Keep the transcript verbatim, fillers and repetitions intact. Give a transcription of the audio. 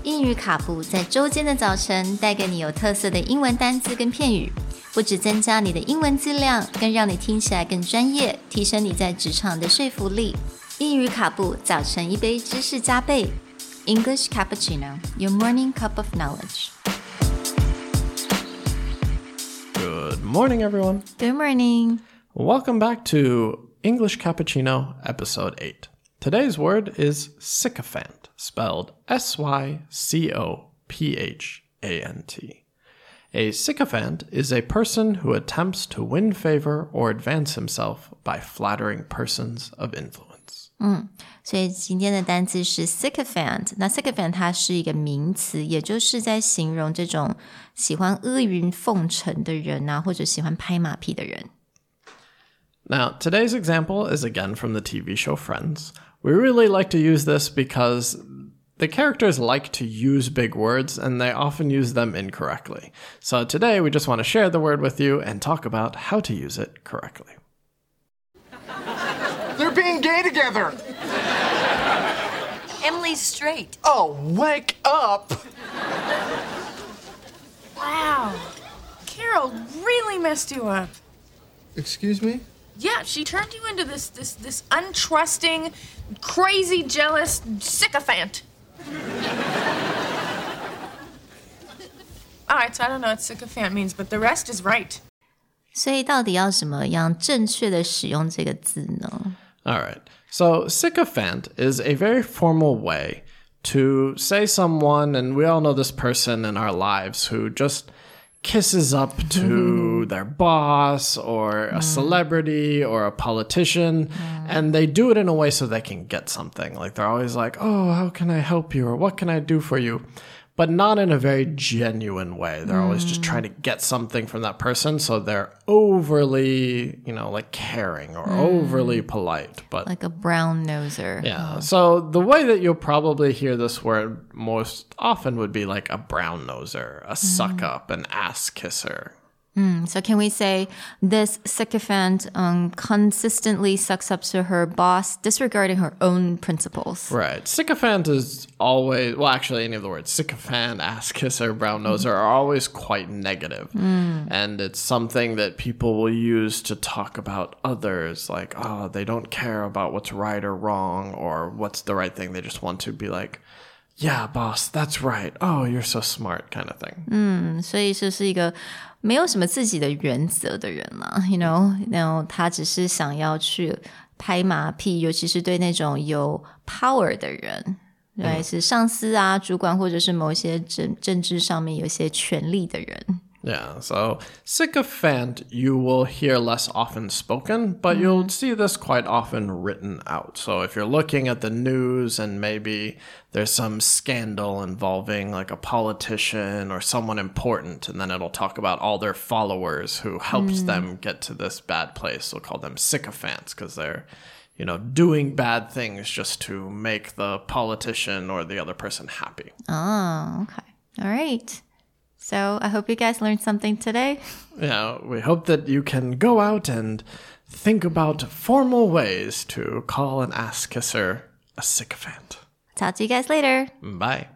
英语卡布在周间的早晨带给你有特色的英文单字跟片语，不只增加你的英文质量，更让你听起来更专业，提升你在职场的说服力。英语卡布早晨一杯知识加倍 English Cappuccino, your morning cup of knowledge. Good morning, everyone. Good morning. Welcome back to English Cappuccino, episode eight. Today's word is sycophant, spelled S Y C O P H A N T. A sycophant is a person who attempts to win favor or advance himself by flattering persons of influence. 嗯，所以今天的单字是 sycophant。那 sycophant 它是一个名词，也就是在形容这种喜欢阿谀奉承的人啊，或者喜欢拍马屁的人。 Now, today's example is again from the T V show Friends. We really like to use this because the characters like to use big words and they often use them incorrectly. So today we just want to share the word with you and talk about how to use it correctly. They're being gay together. Emily's straight. Oh, wake up. Wow. Carol really messed you up. Excuse me? Yeah, she turned you into this this this untrusting, crazy, jealous sycophant. All right, so I don't know what sycophant means, but the rest is right. 所以到底要怎么样正确的使用这个字呢？ All right. So sycophant is a very formal way to say someone, and we all know this person in our lives who just kisses up to their boss or a celebrity or a politician, and they do it in a way so they can get something. Like they're always like, oh, how can I help you? Or what can I do for you? But not in a very genuine way. They're always just trying to get something from that person. So they're overly, you know, like caring or mm. overly polite. But like a brown noser. Yeah. So the way that you'll probably hear this word most often would be like a brown noser, a mm. suck up, an ass kisser. Mm, so can we say this sycophant um, consistently sucks up to her boss, disregarding her own principles? Right. Sycophant is always, well, actually, any of the words, sycophant, ass kisser, brown noser, are always quite negative. Mm. And it's something that people will use to talk about others, like, oh, they don't care about what's right or wrong or what's the right thing. They just want to be like, yeah, boss, that's right. Oh, you're so smart, kind of thing. 嗯，所以就是一个没有什么自己的原则的人啦 you know,然后他只是想要去拍马屁，尤其是对那种有 power 的人，对，是上司啊、主管或者是某一些政政治上面有一些权力的人。 Yeah, so sycophant you will hear less often spoken, but mm. you'll see this quite often written out. So if you're looking at the news and maybe there's some scandal involving like a politician or someone important, and then it'll talk about all their followers who helps mm. them get to this bad place. We'll call them sycophants because they're, you know, doing bad things just to make the politician or the other person happy. Oh, okay. All right. So I hope you guys learned something today. Yeah, we hope that you can go out and think about formal ways to call an ass kisser a sycophant. Talk to you guys later. Bye.